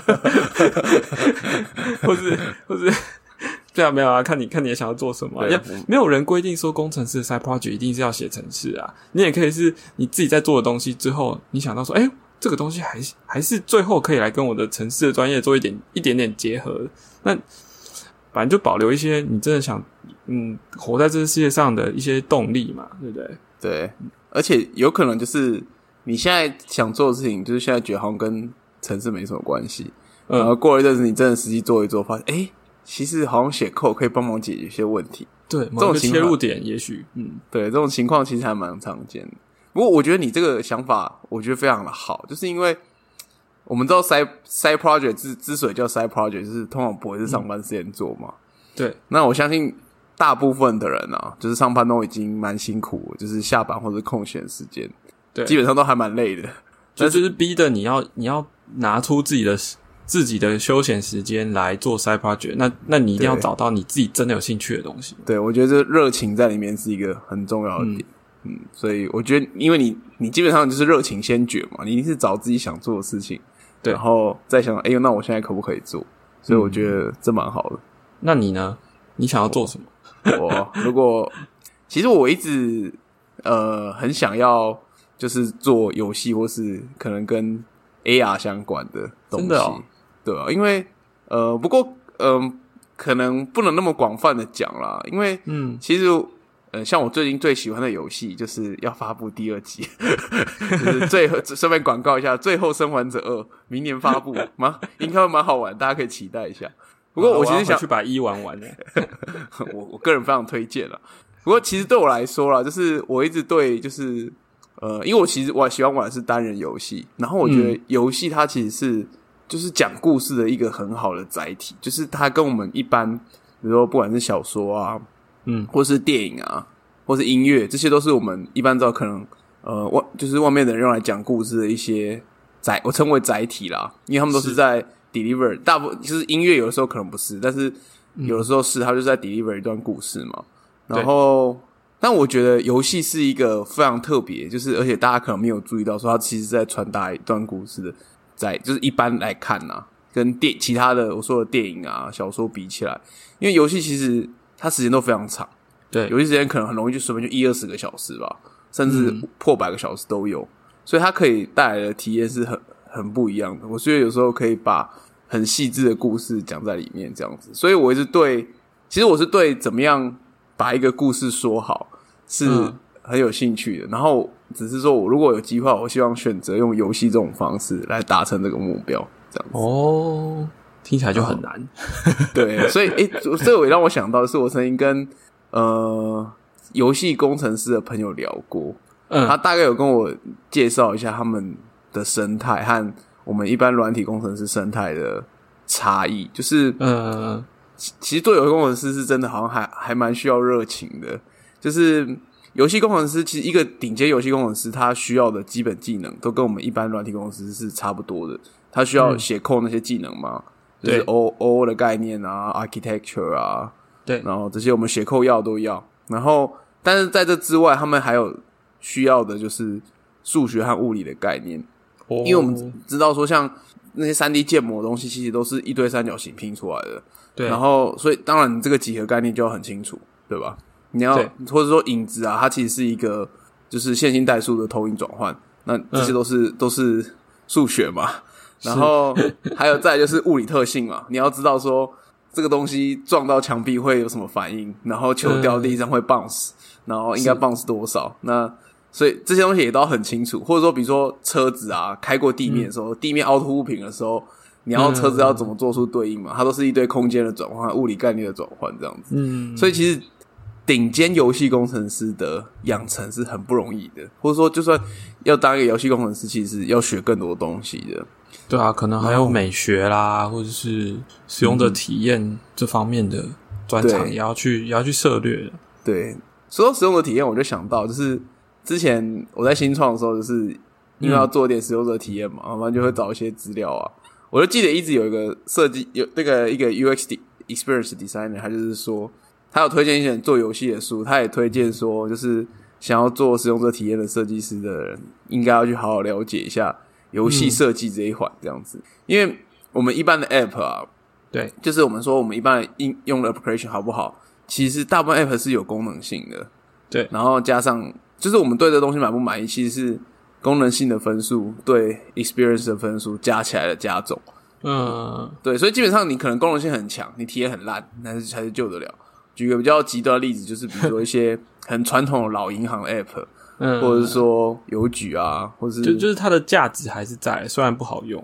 或是对啊，没有啊，看你也想要做什么没有人规定说工程师的 side project 一定是要写程式啊，你也可以是你自己在做的东西之后，你想到说这个东西还是最后可以来跟我的程式的专业做一点点结合，那反正就保留一些你真的想活在这个世界上的一些动力嘛，对不对？ 对，而且有可能就是你现在想做的事情，就是现在觉得好像跟程式没什么关系，然后过了一阵子你真的实际做一做，发现其实好像写code可以帮忙解决一些问题， 对，某个切入点也许对，这种情况其实还蛮常见的。不过我觉得你这个想法我觉得非常的好，就是因为我们知道 side project 之所以叫 side project 就是通常不会是上班时间做嘛。 对， 那我相信大部分的人啊，就是上班都已经蛮辛苦了，就是下班或者空闲时间， 对， 基本上都还蛮累的， 就是逼的你要拿出自己的休闲时间来做 side project， 那你一定要找到你自己真的有兴趣的东西。 对，我觉得这热情在里面是一个很重要的点。所以我觉得，因为你基本上就是热情先决嘛，你一定是找自己想做的事情，对，然后再想，那我现在可不可以做？所以我觉得这蛮好的。 那你呢？你想要做什么？ 其实我一直很想要，就是做游戏或是可能跟 AR 相关的东西。真的哦？对啊，因为不过可能不能那么广泛的讲啦，因为其实像我最近最喜欢的游戏就是要发布第2集，就是顺便广告一下，《最后生还者2》明年发布，应该会蛮好玩，大家可以期待一下。不过我其实想去把1玩的， 我个人非常推荐啦。不过其实对我来说啦，就是我一直对就是因为我喜欢玩的是单人游戏，然后我觉得游戏它其实是就是讲故事的一个很好的载体，就是它跟我们一般，比如说不管是小说啊，或是电影啊，或是音乐，这些都是我们一般知道可能就是外面的人用来讲故事的一些我称为载体啦，因为他们都是在 deliver， 大部分就是音乐有的时候可能不是，但是有的时候是，它就是在 deliver 一段故事嘛。然后，但我觉得游戏是一个非常特别，就是而且大家可能没有注意到，说它其实在传达一段故事的，就是一般来看啊，跟其他的我说的电影啊、小说比起来，因为游戏其实它时间都非常长，对，游戏时间可能很容易就随便就1-20个小时吧，甚至破100个小时都有，所以它可以带来的体验是很不一样的。我觉得有时候可以把很细致的故事讲在里面，这样子，所以我一直其实我是对怎么样把一个故事说好是很有兴趣的，然后只是说我如果有机会，我希望选择用游戏这种方式来达成这个目标，这样子。 哦，听起来就很难。 对，所以这也让我想到的是，我曾经跟游戏工程师的朋友聊过，他大概有跟我介绍一下他们的生态和我们一般软体工程师生态的差异，就是其实做游戏工程师是真的好像还蛮需要热情的，就是游戏工程师其实一个顶尖游戏工程师他需要的基本技能都跟我们一般软体工程师是差不多的，他需要写code那些技能嘛，就是 OO 的概念啊 architecture 啊，对，然后这些我们写code都要，然后但是在这之外他们还有需要的就是数学和物理的概念，因为我们知道说像那些 3D 建模的东西其实都是一堆三角形拼出来的，对，然后所以当然你这个几何概念就要很清楚，对吧？你要或者说影子啊，它其实是一个就是线性代数的投影转换，那这些都是数学嘛。然后还有再来就是物理特性嘛，你要知道说这个东西撞到墙壁会有什么反应，然后球掉地上会 bounce，然后应该 bounce 多少，那所以这些东西也都很清楚，或者说比如说车子啊开过地面的时候，地面凹凸不平的时候，你要车子要怎么做出对应嘛，它都是一堆空间的转换、物理概念的转换这样子。所以其实顶尖游戏工程师的养成是很不容易的，或者说就算要当一个游戏工程师，其实要学更多东西的。 对啊，可能还有美学啦，或者是使用者体验这方面的专长也要去涉猎的。 对，说到使用者体验，我就想到就是之前我在新创的时候，就是因为要做一点使用者体验嘛，然后就会找一些资料啊。我就记得一直有一个设计，有那个一个 UX experience designer， 他就是说他有推荐一些做游戏的书，他也推荐说就是想要做使用者体验的设计师的人，应该要去好好了解一下游戏设计这一环这样子。因为我们一般的 app 啊，对，就是我们说我们一般的用的 application 好不好，其实大部分 app 是有功能性的，对，然后加上就是我们对这东西满不满意，其实是功能性的分数对 experience 的分数加起来的加总。对，所以基本上你可能功能性很强，你体验很烂，但是还是救得了。举个比较极端的例子，就是比如说一些很传统的老银行的 app，或者是说邮局啊，或是就是它的价值还是在，虽然不好用，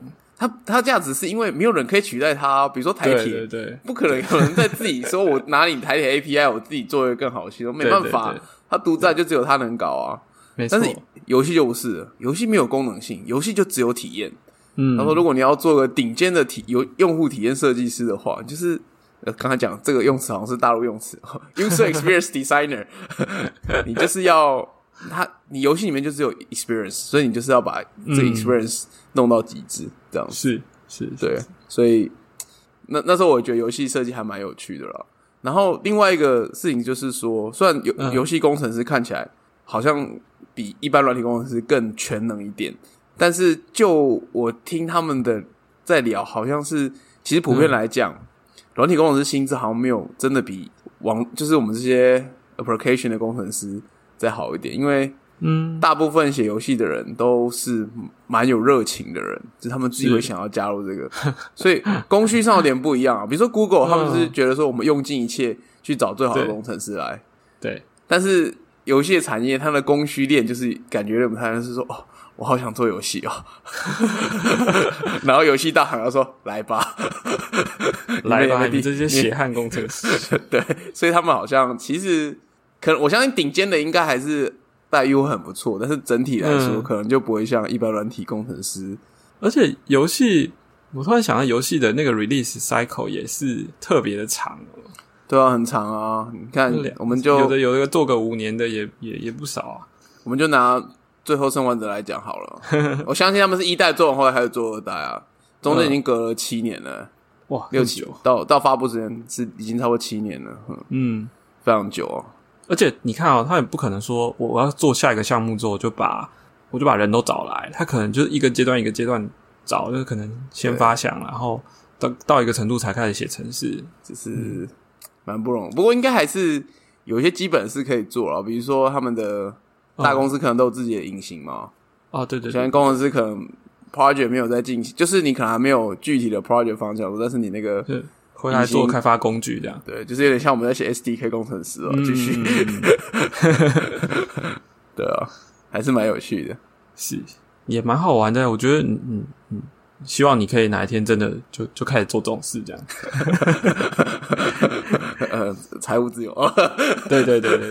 它价值是因为没有人可以取代它，比如说台铁， 对， 不可能有人在自己说我拿你台铁 API， 我自己做一个更好的系统，没办法，它独占就只有它能搞啊。 没错， 但是游戏就不是了，游戏没有功能性，游戏就只有体验。他说，如果你要做个顶尖的用户体验设计师的话，就是刚才讲这个用词好像是大陆用词，user experience designer， 你就是要你游戏里面就只有 experience， 所以你就是要把这个 experience 弄到极致，这样子是， 对，所以那时候我觉得游戏设计还蛮有趣的啦。然后另外一个事情就是说，虽然游戏工程师看起来好像比一般软体工程师更全能一点，但是就我听他们的在聊，好像是其实普遍来讲，软体工程师薪资好像没有真的比就是我们这些 application 的工程师再好一点，因为大部分写游戏的人都是蛮有热情的人，就是他们自己会想要加入这个，所以供需上有点不一样啊。比如说 Google， 他们是觉得说我们用尽一切去找最好的工程师来， 对， 但是游戏的产业它的供需链就是感觉不太是说哦，我好想做游戏哦，然后游戏大行要说来吧， 来吧，你这些血汗工程师， 对，所以他们好像其实可能我相信顶尖的应该还是待遇会很不错，但是整体来说可能就不会像一般软体工程师。 而且游戏，我突然想到游戏的那个 release cycle 也是特别的长哦。 对啊，很长啊！你看，我们就有的做个5年的也不少啊。 我们就拿最后生还者来讲好了，我相信他们是1代做完后来开始做2代啊，中间已经隔了7年了， 哇 ，6、7到发布时间是已经超过7年了，非常久哦。 而且你看哦，他也不可能说我要做下一个项目之后我就把人都找来，他可能就是一个阶段一个阶段找，就是可能先发想，然后到一个程度才开始写程式， 就是蛮不容易。不过应该还是有一些基本是可以做了，比如说他们的大公司可能都有自己的引擎嘛。 哦，对， 现在工程师可能 project 没有在进行，就是你可能还没有具体的 project 方向，但是你那个回来做开发工具这样。 对，就是有点像我们在写 SDK 工程师哦，继续。对啊，还是蛮有趣的， 是也蛮好玩的。我觉得，希望你可以哪一天真的就开始做这种事，这样。 财务自由。 对。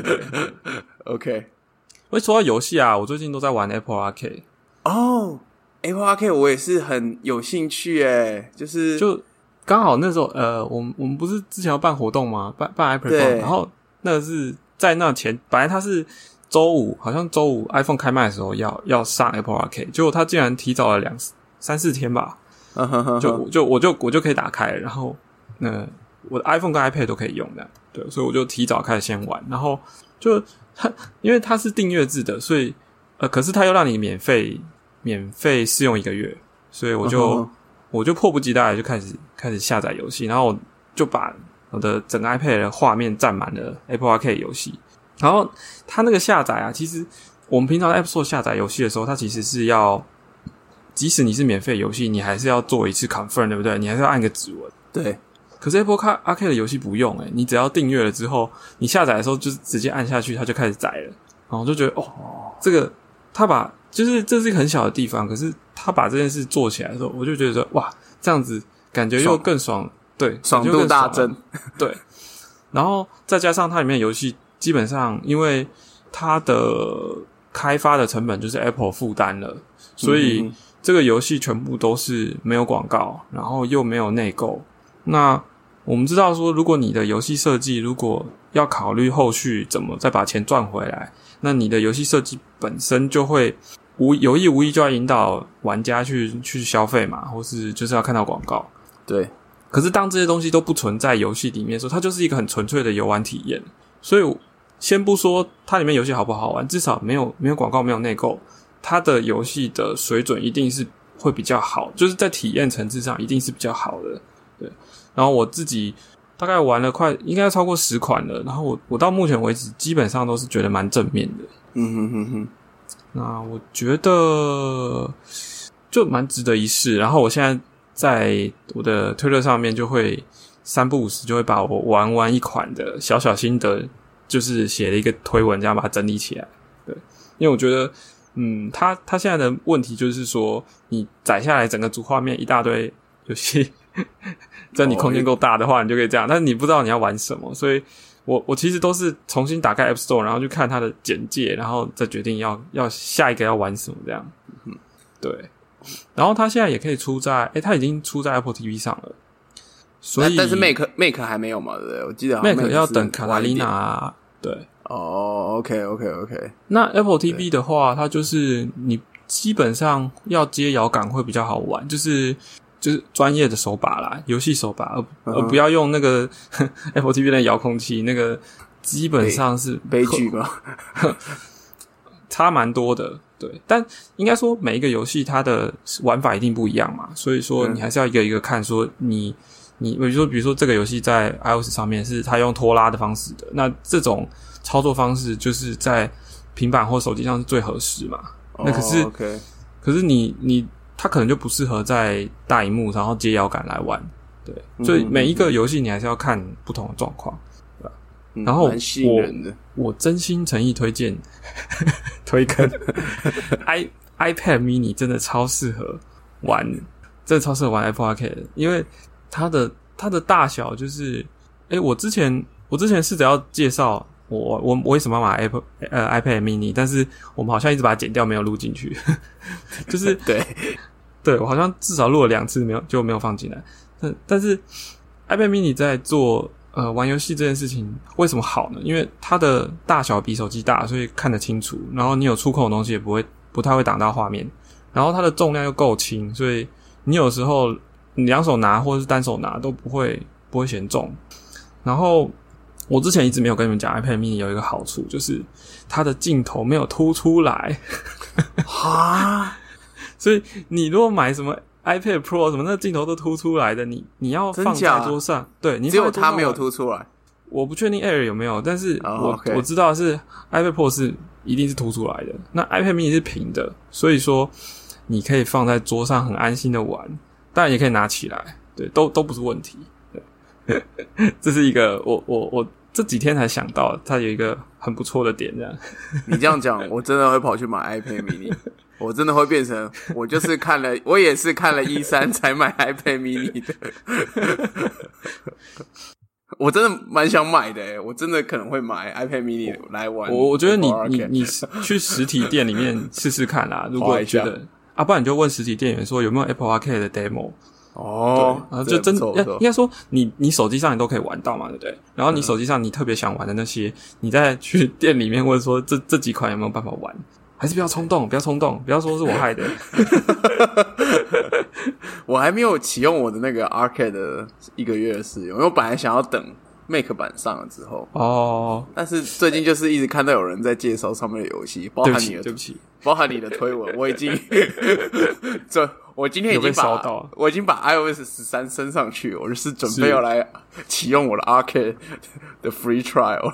OK。 会说到游戏啊，我最近都在玩 Apple Arcade。 哦，Apple Arcade 我也是很有兴趣诶，就刚好那时候我们不是之前要办活动吗？办 Apple Arcade，然后那个是在那前，本来它是周五，好像周五 iPhone 开卖的时候要上 Apple Arcade， 结果它竟然提早了3-4天吧，我就可以打开，然后我的 iPhone 跟 iPad 都可以用的，对，所以我就提早开始先玩，然后就因为它是订阅制的，所以可是它又让你免费试用1个月，所以我就迫不及待就开始下载游戏，然后我就把我的整个 iPad 的画面占满了 Apple Arcade 游戏。然后它那个下载啊，其实我们平常在 App Store 下载游戏的时候，它其实是要，即使你是免费游戏，你还是要做一次 confirm， 对不对？你还是要按个指纹。 对。 可是 Apple Arcade 的游戏不用你只要订阅了之后，你下载的时候就是直接按下去，它就开始载了。然后我就觉得这个他把就是这是一个很小的地方，可是他把这件事做起来的时候，我就觉得说哇，这样子感觉又更爽，对， 爽度大增， 对。然后再加上它里面的游戏基本上因为它的开发的成本就是 Apple 负担了，所以这个游戏全部都是没有广告，然后又没有内购。那我们知道说，如果你的游戏设计如果要考虑后续怎么再把钱赚回来，那你的游戏设计本身就会有意无意就要引导玩家去消费嘛，或是就是要看到广告。 对。 可是当这些东西都不存在游戏里面的时候，它就是一个很纯粹的游玩体验。所以先不说它里面游戏好不好玩，至少没有广告，没有内购，它的游戏的水准一定是会比较好，就是在体验层次上一定是比较好的。对。然后我自己大概玩了应该超过10款了，然后我到目前为止基本上都是觉得蛮正面的。那我觉得就蛮值得一试。然后我现在在我的推特上面就会3不5时就会把我玩完一款的小心得，就是写了一个推文，这样把它整理起来。对，因为我觉得它现在的问题就是说，你载下来整个主画面一大堆游戏，只要你空间够大的话，你就可以这样。但是你不知道你要玩什么，所以我其实都是重新打开 App Store， 然后去看它的简介，然后再决定要下一个要玩什么这样。对。然后它现在也可以出在，它已经出在 Apple TV 上了。所以但是 Mac 还没有嘛，对不对？我记得好像 Mac 要等卡塔琳娜。对。 OK。 那 Apple TV 的话，它就是你基本上要接摇杆会比较好玩，就是专业的手把啦，游戏手把，而不要用那个Apple TV 的遥控器，那个基本上是悲剧吧， 差蛮多的。对，但应该说每一个游戏它的玩法一定不一样嘛，所以说你还是要一个一个看，说你比如说这个游戏在 iOS 上面是它用拖拉的方式的，那这种操作方式就是在平板或手机上是最合适嘛。那可是你它可能就不适合在大萤幕然后接摇杆来玩。对，所以每一个游戏你还是要看不同的状况，对吧？然后我真心诚意推荐推坑iPad mini 真的超适合玩，真的超适合玩 Apple Arcade 的，因为它的大小就是，我之前试着要介绍我为什么要买iPad mini， 但是我们好像一直把它剪掉，没有录进去，就是对我好像至少录了2次没有放进来，但是 iPad mini 在做玩游戏这件事情为什么好呢？因为它的大小比手机大，所以看得清楚，然后你有触控的东西也不太会挡到画面，然后它的重量又够轻，所以你有时候你2手拿或者是单手拿都不会嫌重。然后我之前一直没有跟你们讲 iPad mini 有一个好处，就是它的镜头没有凸出来。 哈所以你如果买什么 iPad Pro 什么那镜头都凸出来的，你要放在桌上，对，你只有它没有凸出来。 我不确定 Air 有没有，但是我知道的是 iPad Pro 是一定是凸出来的。那 iPad mini 是平的，所以说你可以放在桌上很安心的玩，当然也可以拿起来，对，都不是问题。对，这是一个我这几天才想到，它有一个很不错的点，这样。 你这样讲，我真的会跑去买 iPad mini。我真的会变成我也是看了E3才买 iPad mini 的。我真的蛮想买的我真的可能会买 iPad mini 来玩。我觉得你去实体店里面试试看啦，如果觉得不然你就问实体店员说有没有 Apple Arcade 的 demo。对，然后就真的应该说你手机上你都可以玩到嘛，对不对？然后你手机上你特别想玩的那些，你再去店里面问说这几款有没有办法玩。还是不要冲动，不要说是我害的。 我还没有启用我的那个 Arcade 的1个月的试用，因为我本来想要等 Mac 版上了之后。但是最近就是一直看到有人在介绍上面的游戏，包含你的推文，我已经我今天已经把 iOS 13升上去，我就是准备要来启用我的 Arcade 的 Free Trial。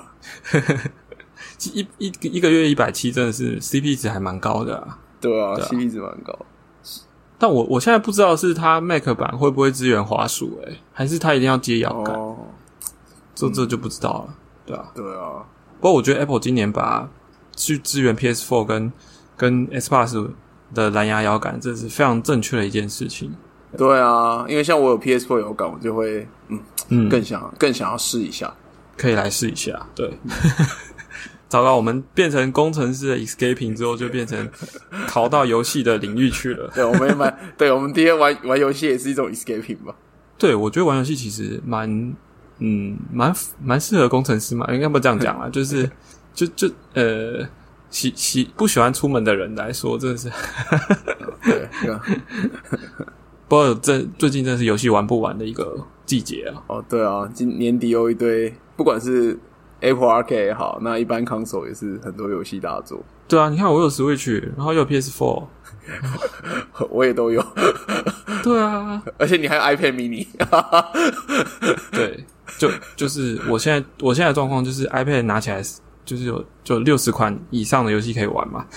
一个月170真的是 CP 值还蛮高的啊。 对啊 CP 值蛮高。 但我现在不知道是它 Mac 版会不会支援滑鼠还是它一定要接摇杆。这就不知道了。对啊。不过我觉得 Apple 今年把去支援 PS4 跟 Xbox 的蓝牙摇杆，这是非常正确的一件事情。 对啊，因为像我有 PS4 摇杆，我就会更想要试一下。 可以来试一下。对。糟糕，我们变成工程师的 escaping 之后，就变成逃到游戏的领域去了。 对，我们第一天玩游戏也是一种 escaping 吧。 对，我觉得玩游戏其实蛮适合工程师嘛，应该不这样讲啦，就是不喜欢出门的人来说，真的是。 对。 不过最近真的是游戏玩不完的一个季节啊。 对啊，今年底有一堆，不管是Apple Arcade 也好，那一般 console 也是很多游戏大作。 对啊，你看我有 Switch， 然后又有 PS4， 我也都有。 对啊， 而且你还有 iPad mini。 对，就是我现在的状况就是 iPad 拿起来就是就60款以上的游戏可以玩嘛。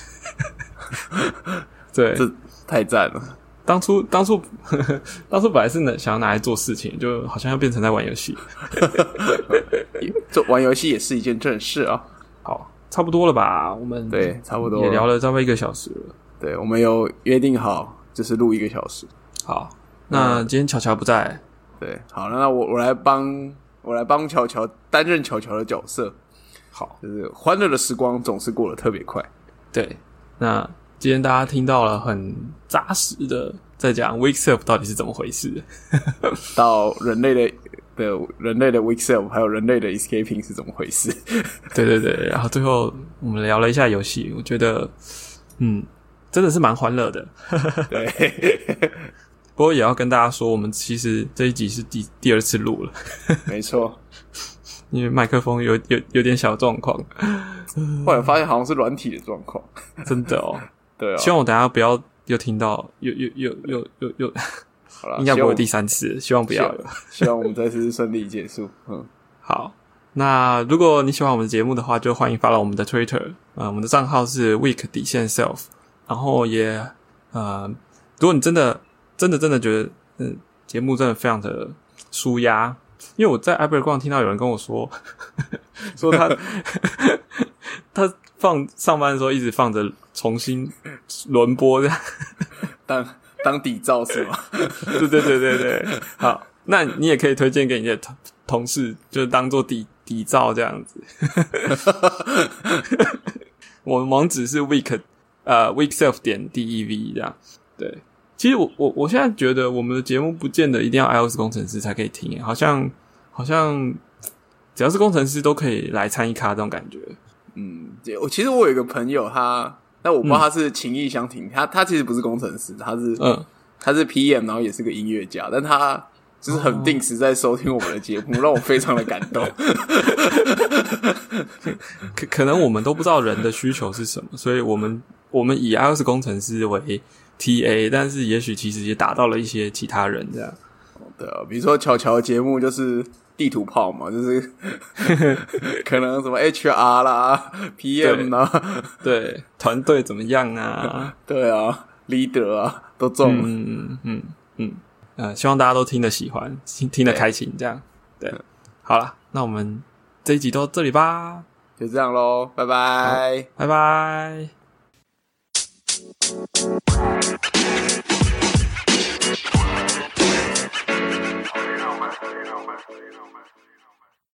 对， 这太赞了。 当初本来是想要拿来做事情，就好像要变成在玩游戏。 做玩游戏也是一件正事啊。 好， 差不多了吧？我们对，差不多也聊了差不多1个小时了。 对，我们有约定好，就是录1个小时。 好，那今天巧巧不在， 对，好，那我来帮巧巧担任巧巧的角色。 好， 就是欢乐的时光总是过得特别快。 对，那今天大家听到了很扎实的在讲 Weak Self 到底是怎么回事， 到人类的 Weak Self 还有人类的 Escaping 是怎么回事。 对对对，然后最后我们聊了一下游戏，我觉得真的是蛮欢乐的。 对， 不过也要跟大家说，我们其实这一集是第2次录了。 没错， 因为麦克风有点小状况， 后来发现好像是软体的状况。 真的哦。 对啊， 希望我等一下不要又听到又好啦， 应该不会第3次，希望不要有。 希望我们这次顺利结束。 好，那如果你喜欢我们的节目的话，就欢迎follow我们的 Twitter，我们的账号是 weak_self， 然后也如果你真的觉得节目真的非常的舒压，因为我在 Iberg 听到有人跟我说说他上班的时候一直放着重新轮播这样当底噪是吗？ 对，好，那你也可以推荐给你的同事，就当做底噪这样子。我们网址是 weakself.dev 这样。对，其实我现在觉得我们的节目不见得一定要 iOS 工程师才可以听，好像只要是工程师都可以来参与咖这种感觉。 其实我有一个朋友，但我不知道他是情意相挺，他其实不是工程师，他是 PM， 然后也是个音乐家，但他就是很定时在收听我们的节目，让我非常的感动。 可能我们都不知道人的需求是什么，所以我们以 iOS 工程师为 TA， 但是也许其实也打到了一些其他人这样。 对啊，比如说巧巧的节目就是地图炮嘛，就是可能什么 HR 啦 PM 啦， 对，团队怎么样啊？ 对啊 ，leader 啊都中了。希望大家都听得喜欢，听得开心这样。对，好啦，那我们这一集到这里吧， 就这样咯，拜拜， 拜拜。